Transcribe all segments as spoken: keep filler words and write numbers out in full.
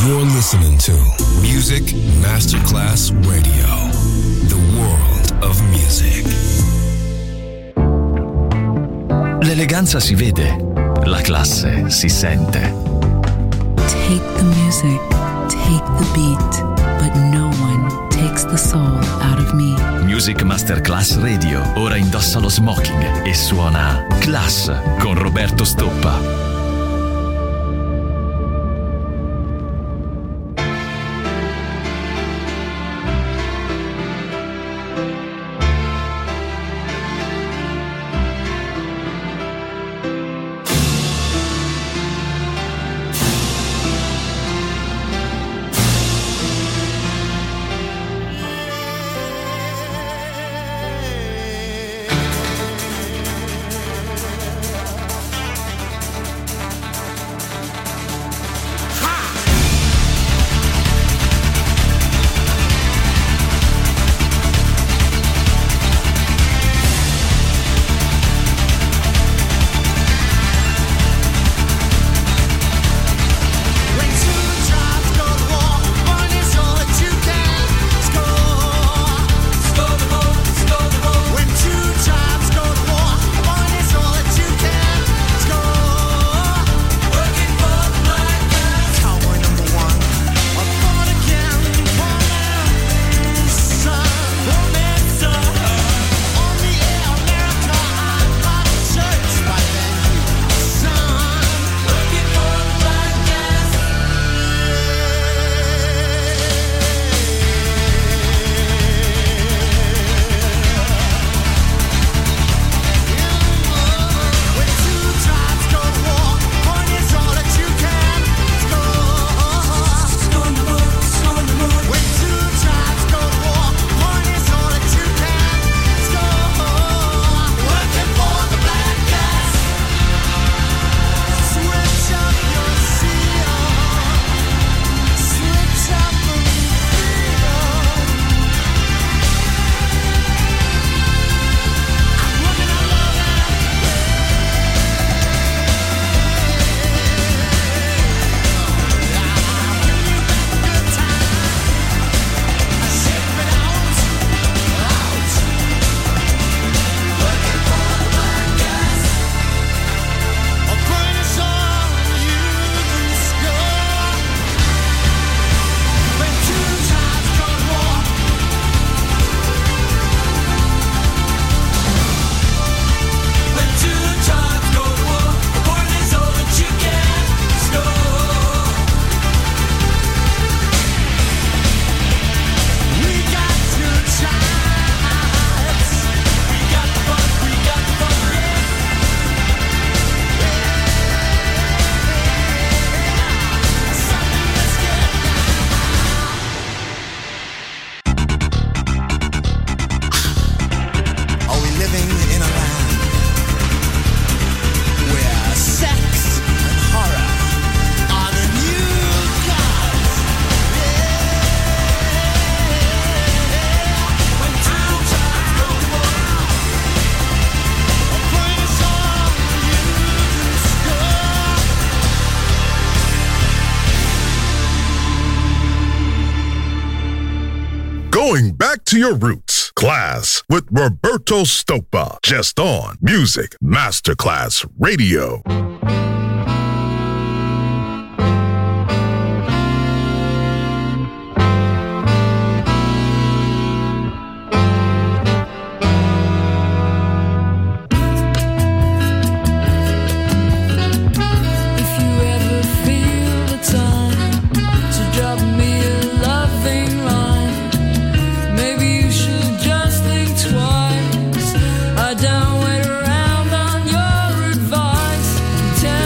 You're listening to Music Masterclass Radio, the world of music. L'eleganza si vede, la classe si sente. Take the music, take the beat, but no one takes the soul out of me. Music Masterclass Radio ora indossa lo smoking e suona Class con Roberto Stoppa. Going back to your roots. Class with Roberto Stoppa. Just on Music Masterclass Radio. Don't wait around on your advice. Tell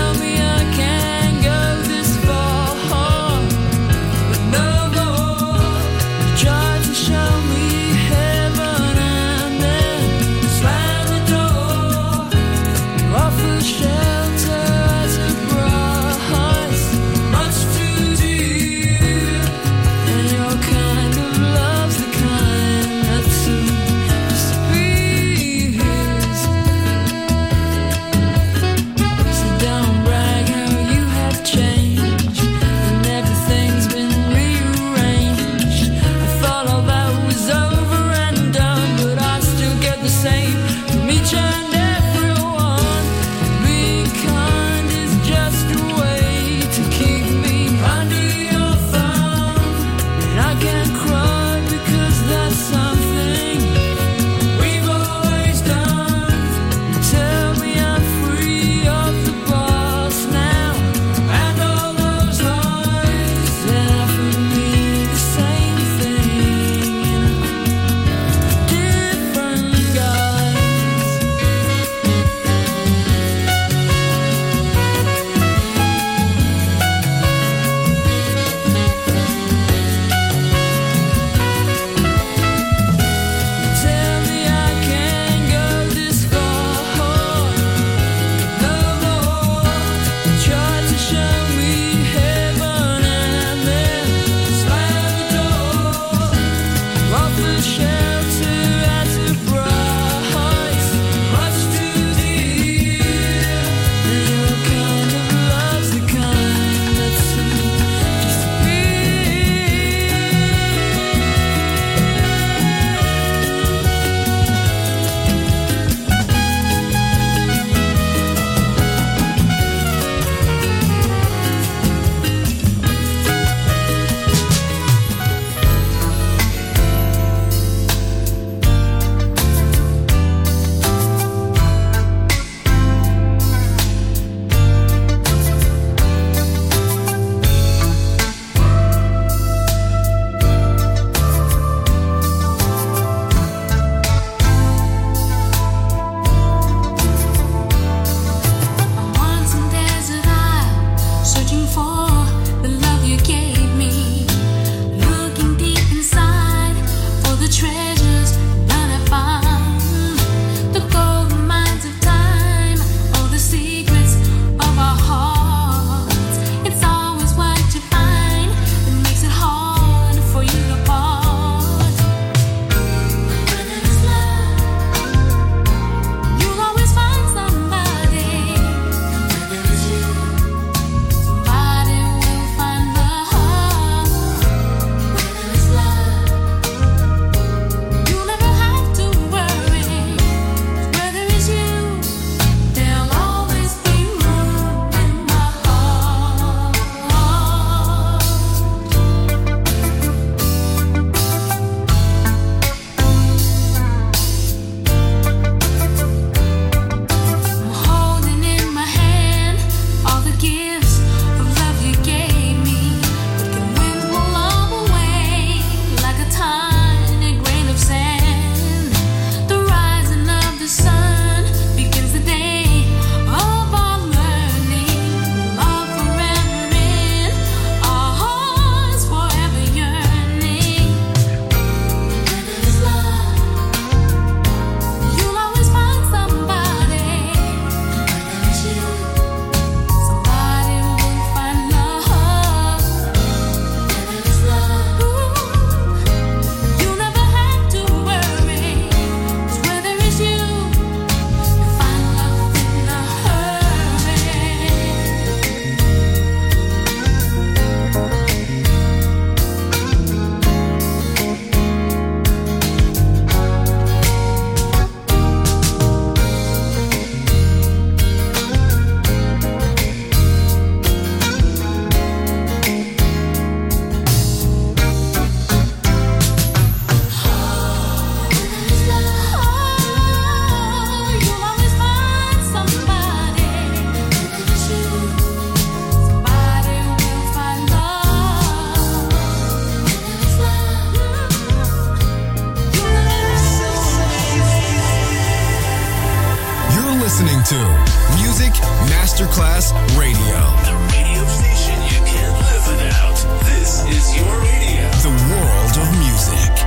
Masterclass Radio. The radio station you can't live without. This is your radio. The world of music.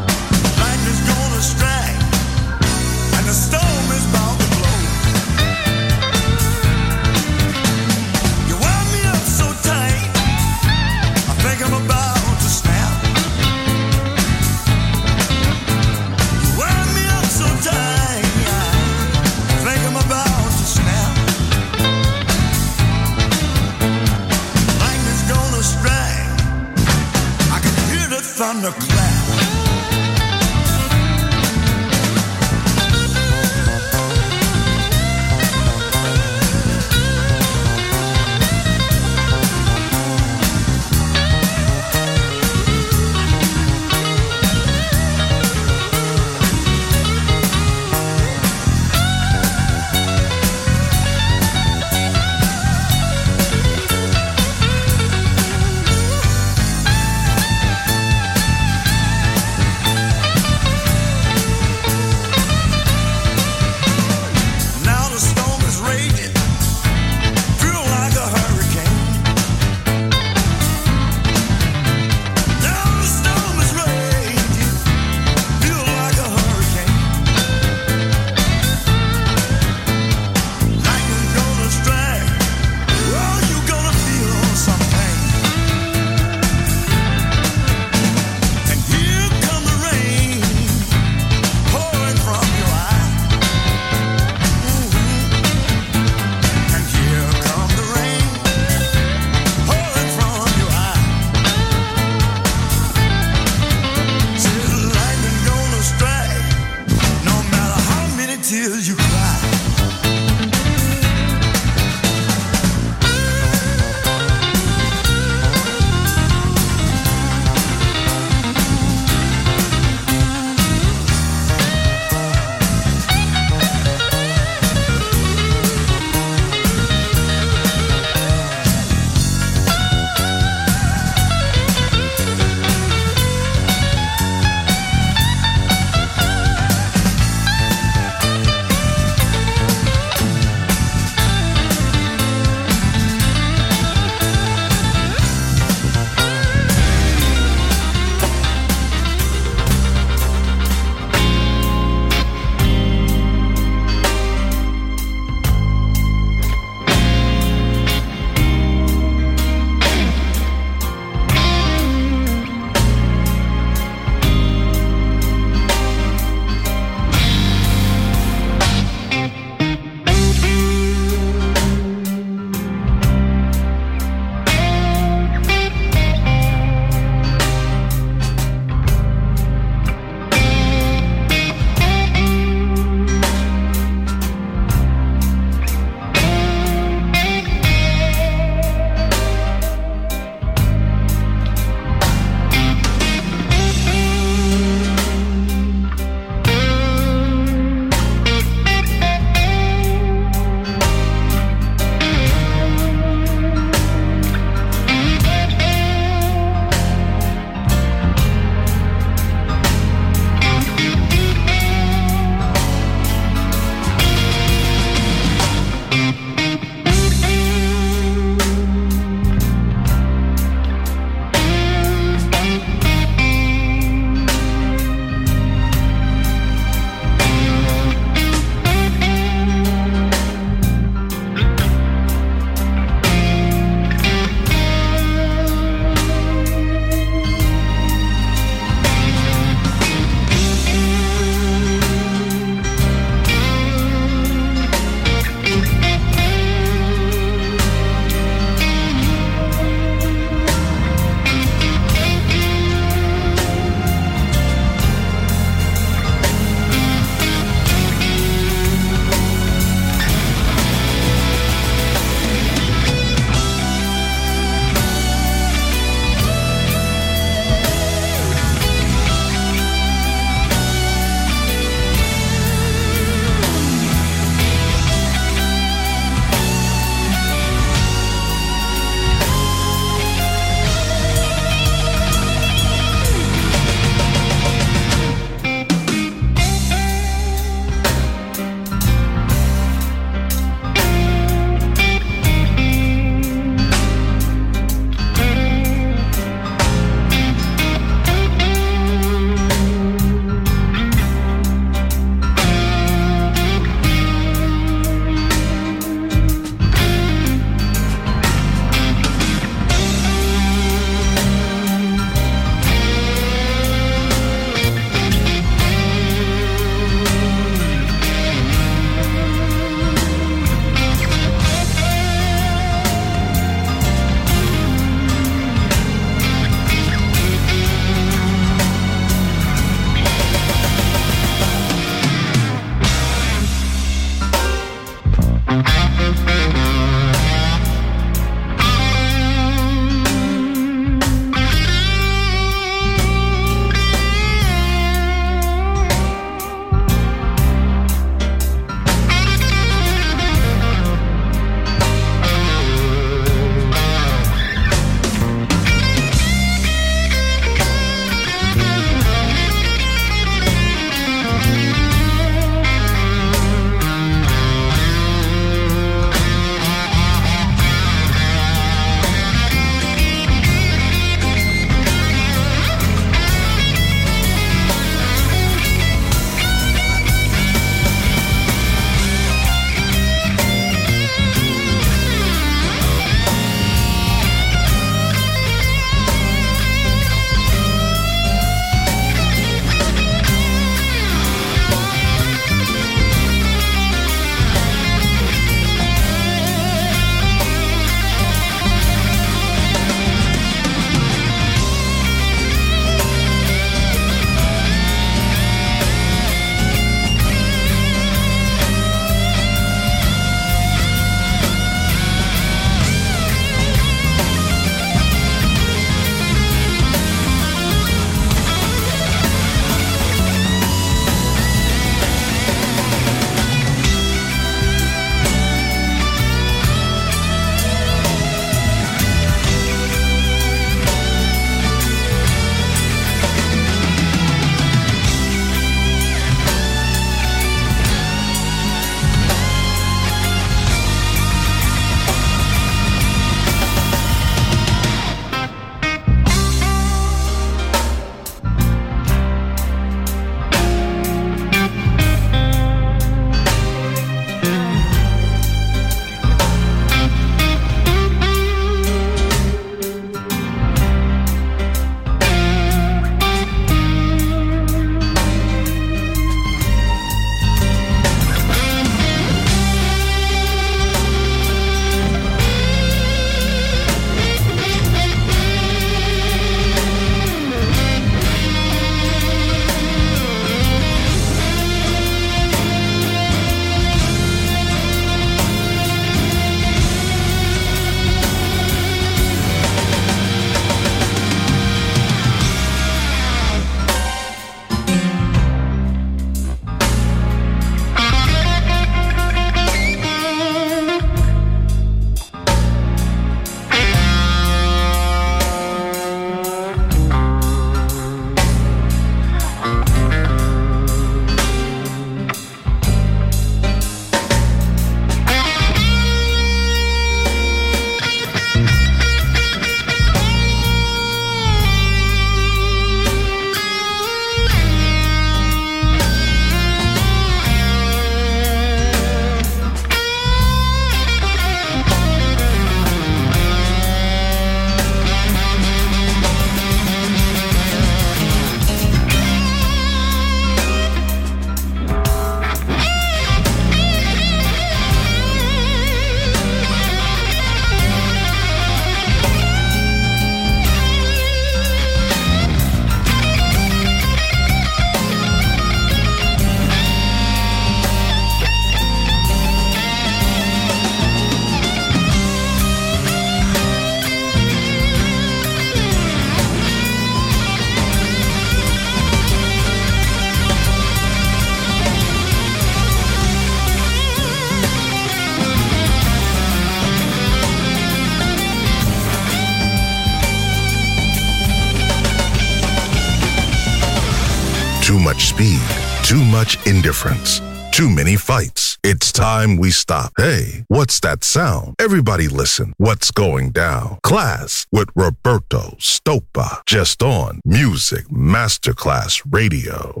Too much speed. Too much indifference. Too many fights. It's time we stop. Hey, what's that sound? Everybody listen. What's going down? Class with Roberto Stoppa. Just on Music Masterclass Radio.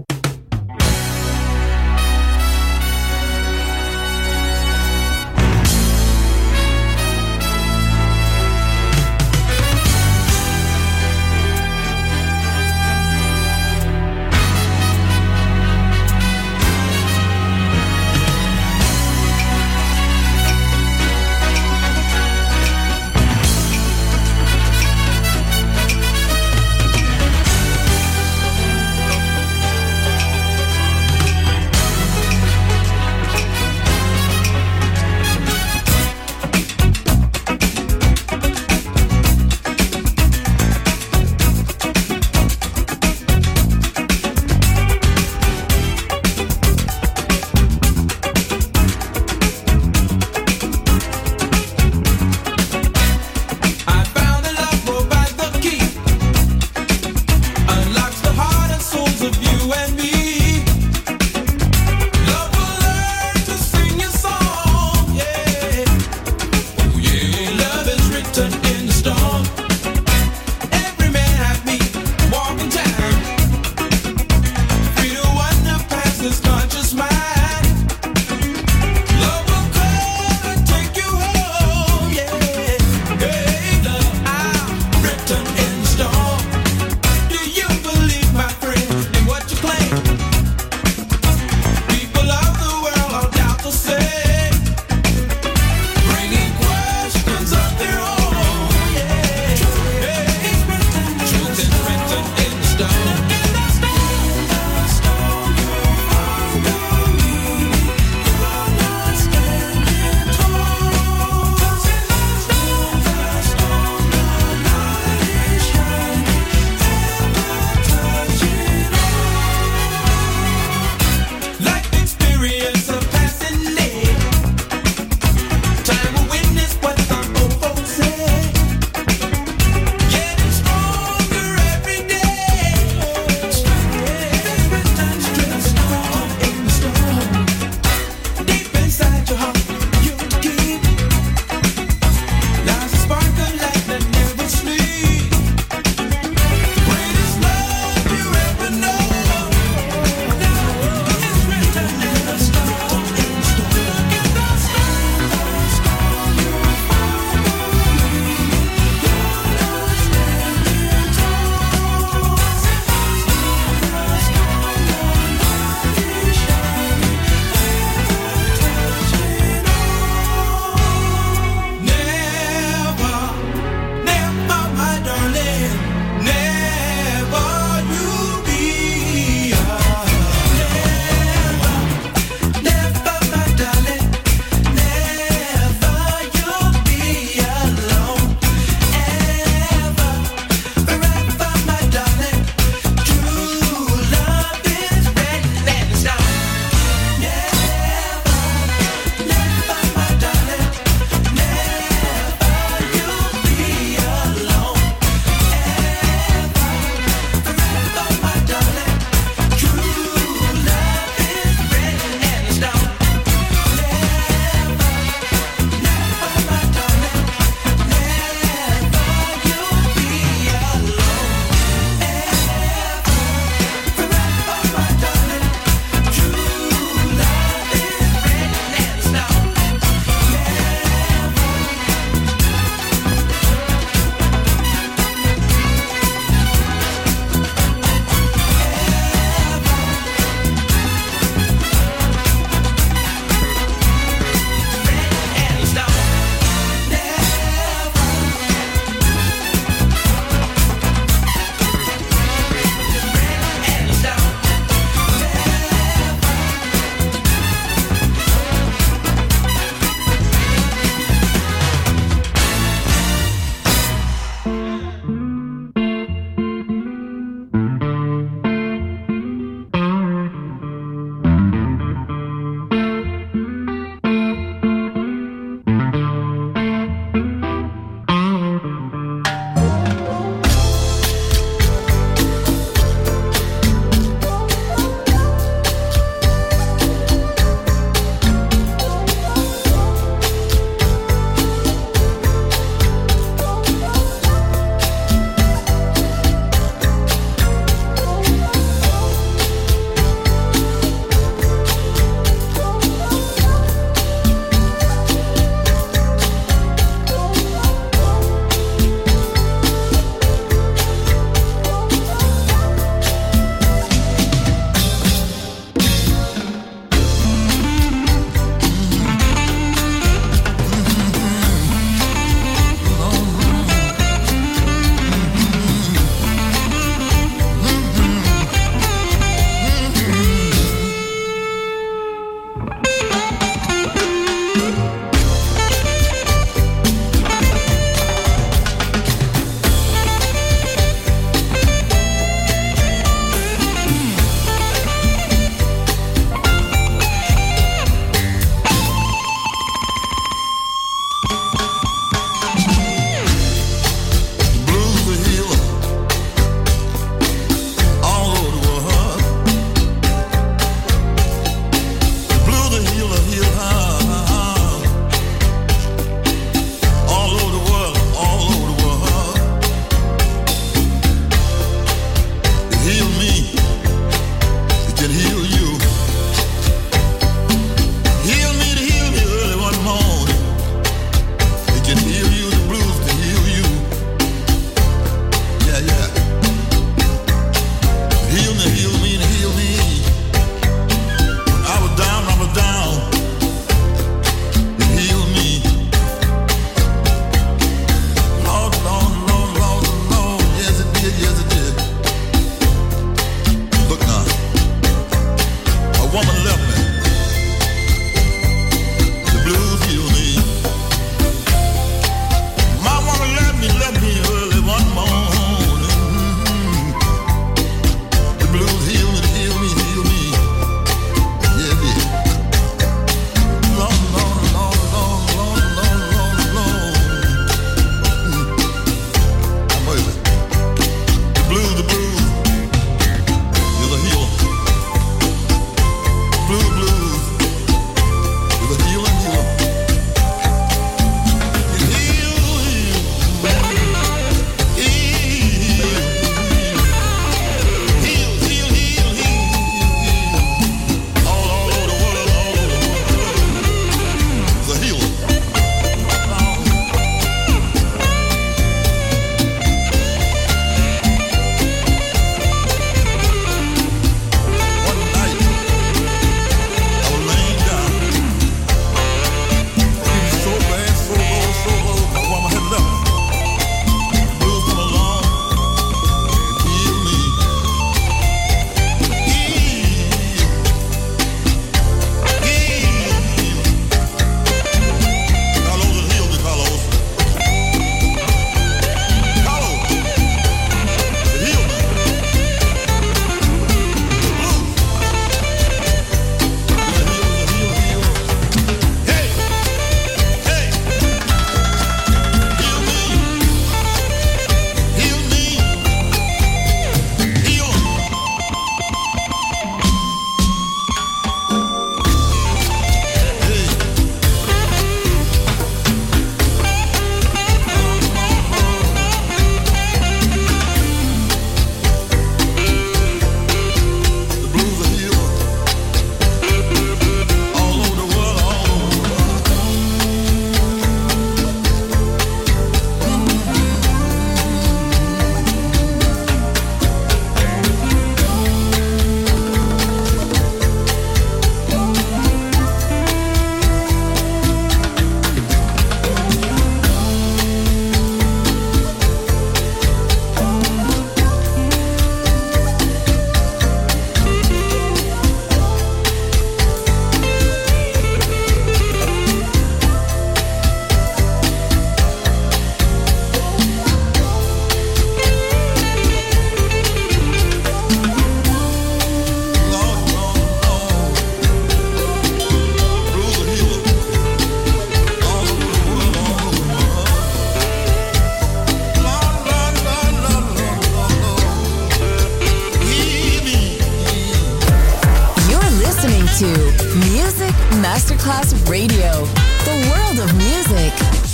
Masterclass Radio, the world of music.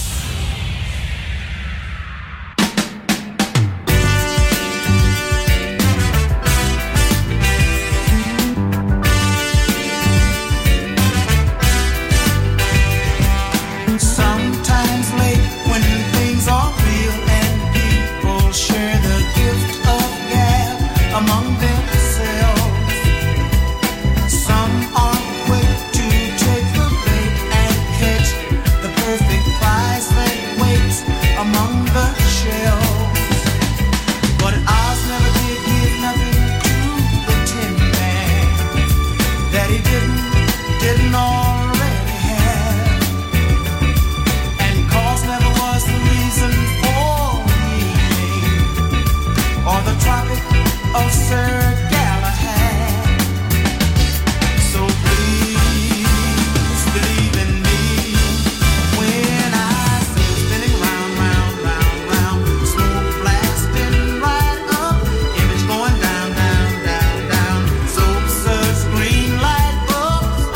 Sometimes late when things are real and people share the gift of gab among themselves. Some are quick to take the bait and catch the perfect prize that waits among the shelves. But Oz never did give nothing to the Tin Man that he didn't, didn't already have. And cause never was the reason for meaning or the Tropic of Sir Galahad. So please believe in me when I say spinning round, round, round, round, smoke blasting right up, image going down, down, down, down, soap suds, green light bulbs.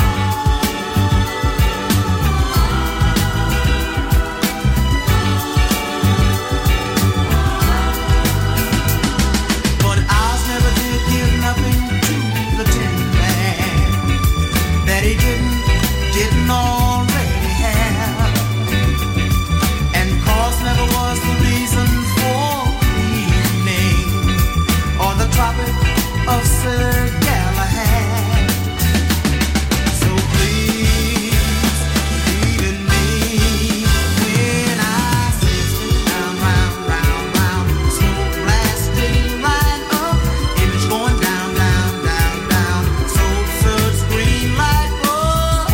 But Oz never did give nothing to the Tin Man that he didn't, didn't already have. And cause never was the reason for evening or the Tropic of Sir Galahad. So please believe in me when I say spin round, round, round, round, smoke blasting right up, image going down, down, down, down, soap suds, green light bulbs.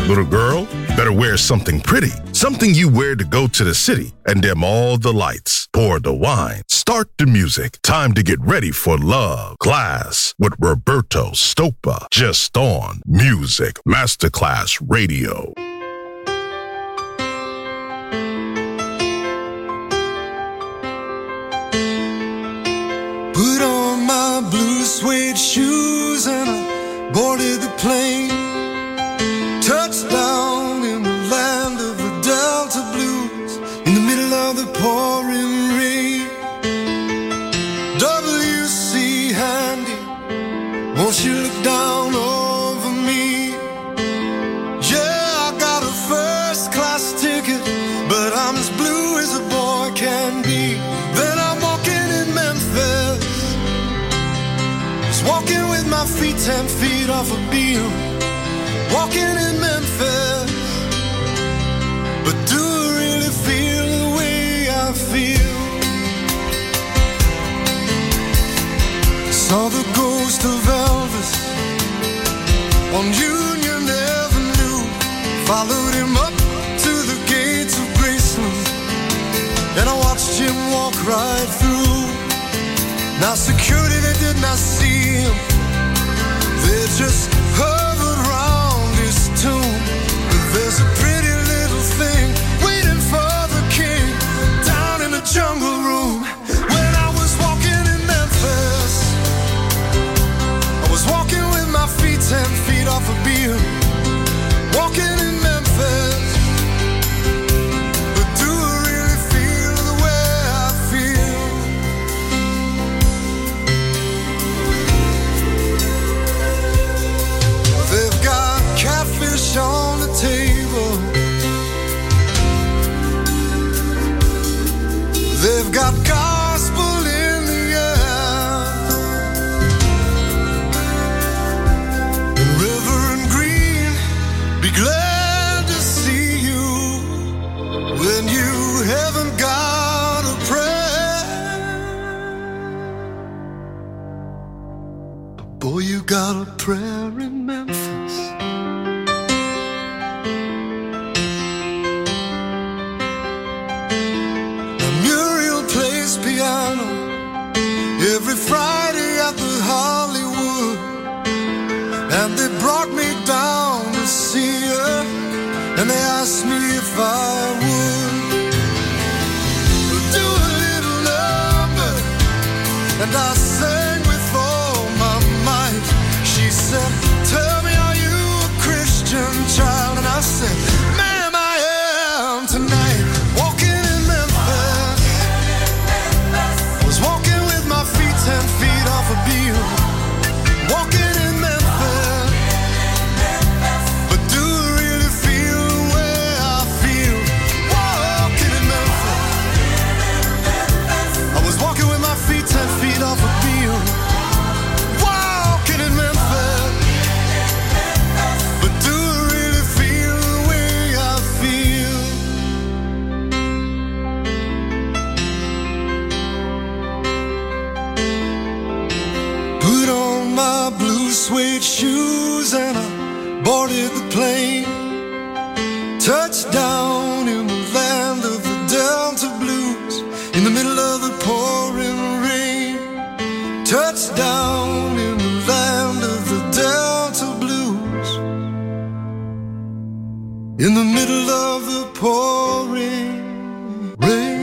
Little girl, better wear something pretty, something you wear to go to the city, and dim all the lights. Pour the wine. Start the music. Time to get ready for love. Class with Roberto Stoppa. Just on Music Masterclass Radio. Put on my blue suede shoes and I boarded the plane. Touchdown in the land of the Delta Blues, in the middle of the pouring rain. W C Handy, won't you look down over me? Yeah, I got a first class ticket, but I'm as blue as a boy can be. Then I'm walking in Memphis, just walking with my feet ten feet off a beam. Walking in Memphis, but do I really feel the way I feel? Saw the ghost of Elvis on Union Avenue, followed him up to the gates of Graceland, and I watched him walk right through. Now security, they did not see him, they just hovered around his tomb. But there's a pretty little thing waiting for the king down in the jungle room. When I was walking in Memphis, I was walking with my feet ten feet off a beam. Walking in Memphis, but do I really feel the way I feel? They've got catfish on the table, they've got gospel in the air, and Reverend Green, be glad to see you when you haven't got a prayer. But boy, you got a prayer in Memphis. Piano every Friday at the Hollywood, and they brought me down to see her, and they asked me if I would do a little number, and I sang with all my might. She said, tell me, are you a Christian child? And I said, ma'am, I am tonight. Walking in Memphis, walking with my feet ten feet off a beam. Walking in Memphis, but do I really feel the way I feel? Walking in Memphis, I was walking with my feet ten feet off a beam. Walking in Memphis, but do I really feel the way I feel? Put on my blue suede shoes and I boarded the plane. Touchdown in the land of the Delta Blues, in the middle of the pouring rain. Touchdown in the land of the Delta Blues, in the middle of the pouring rain.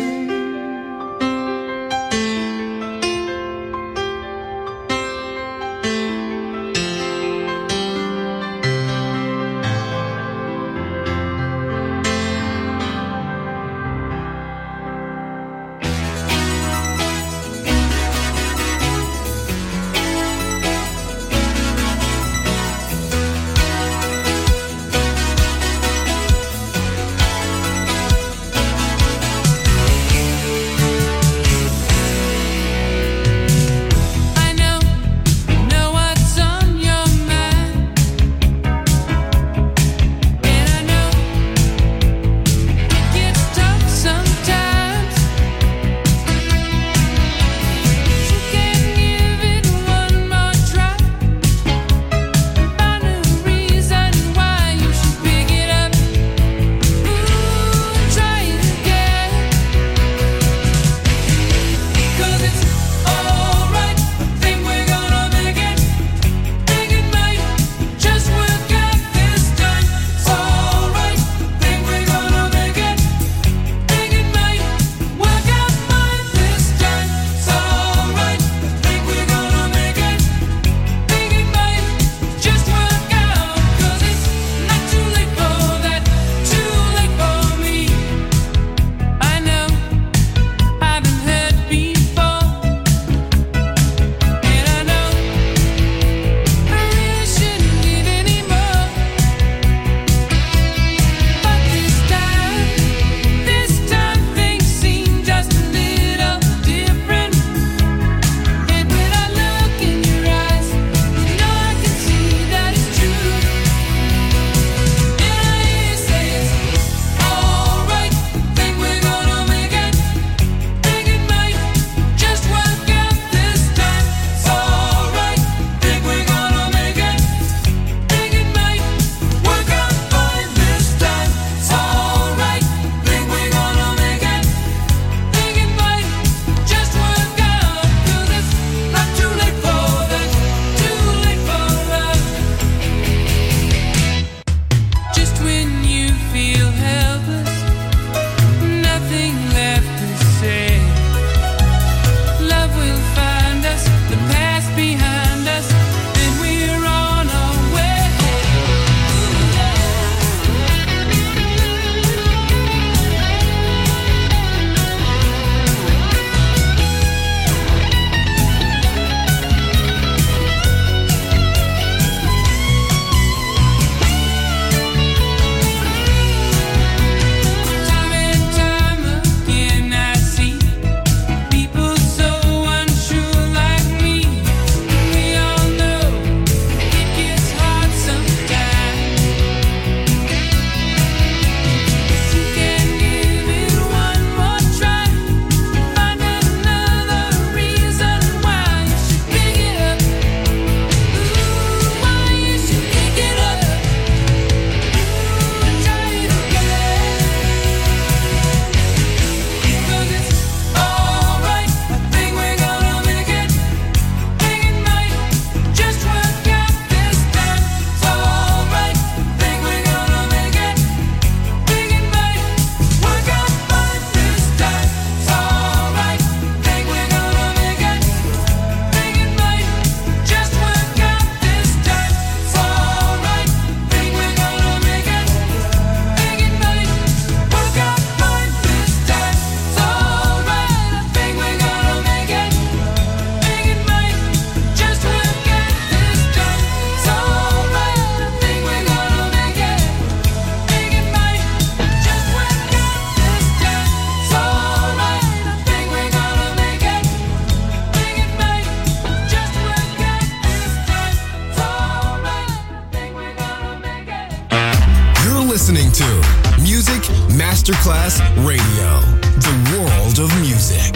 listening to Music Masterclass Radio, the world of music.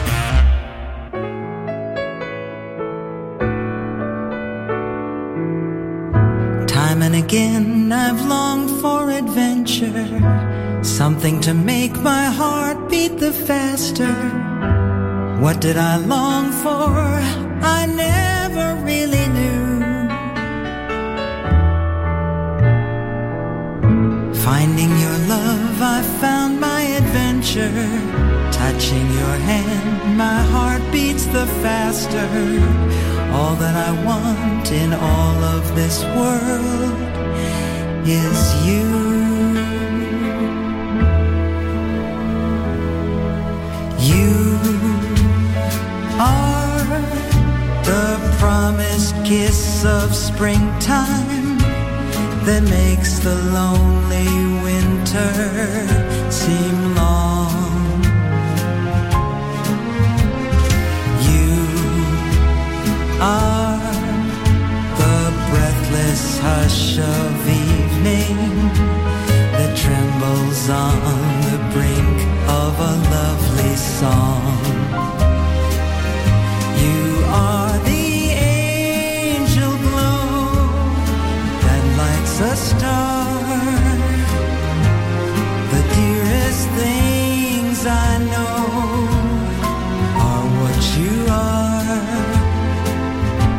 Time and again I've longed for adventure, something to make my heart beat the faster. What did I long for? I never really knew. Finding your love, I found my adventure. Touching your hand, my heart beats the faster. All that I want in all of this world is you. You are the promised kiss of springtime that makes the lonely winter seem long. You are the breathless hush of evening that trembles on the brink of a lovely song. You are the angel glow that lights a star. The dearest things I know are what you are.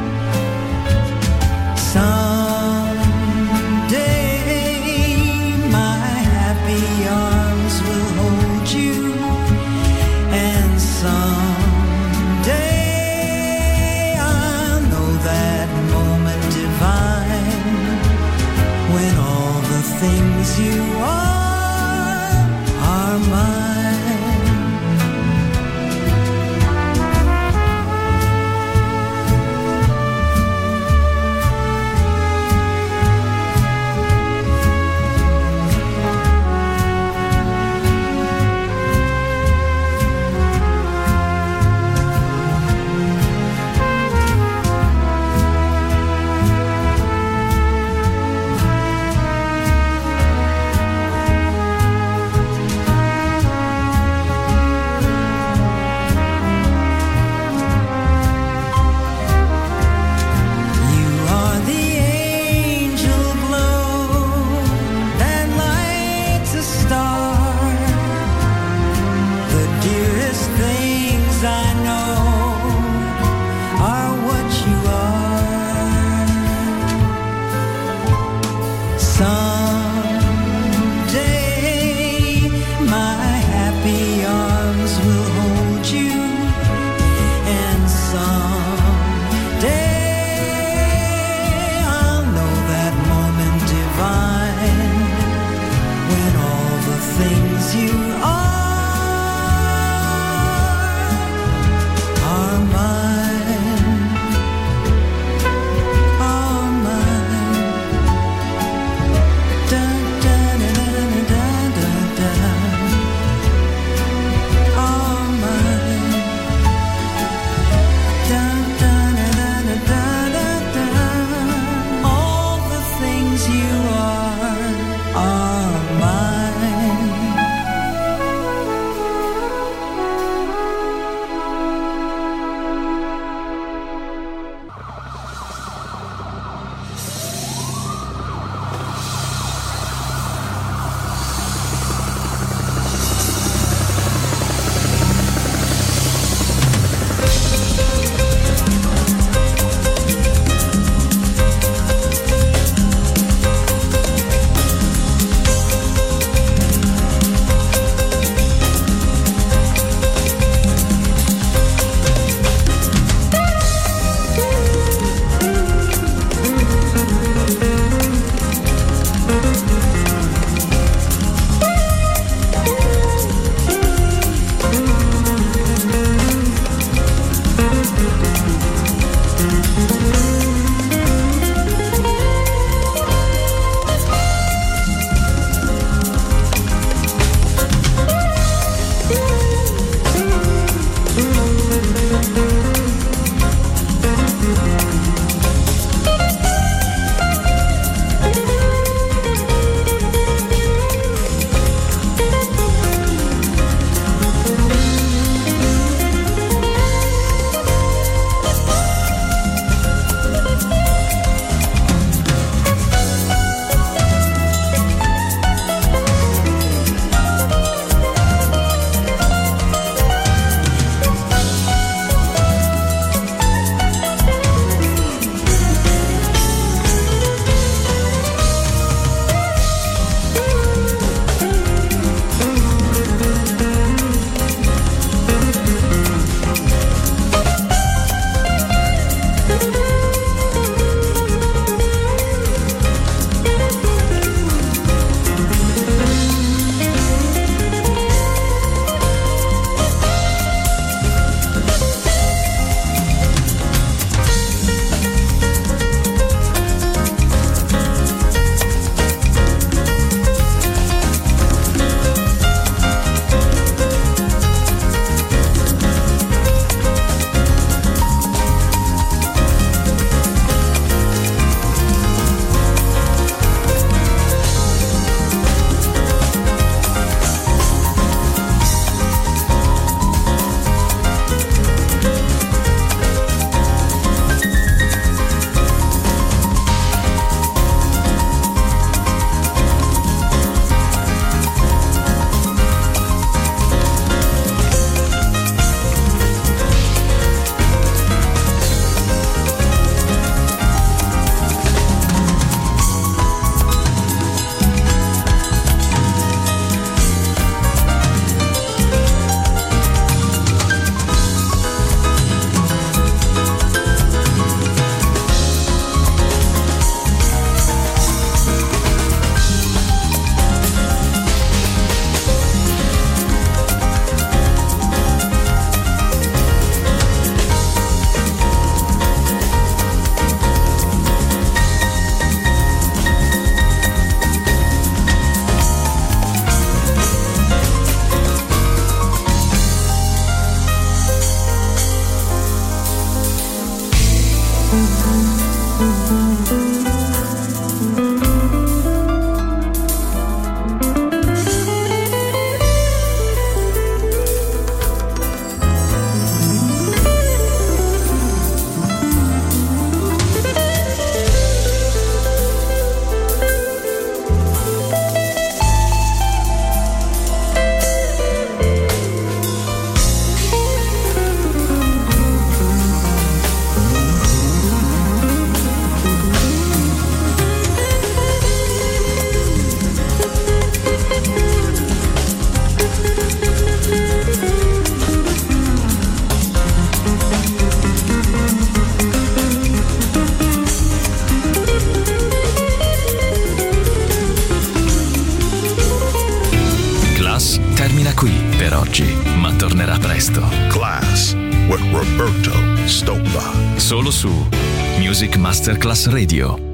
Ma tornerà presto. Class with Roberto Stoppa. Solo su Music Masterclass Radio.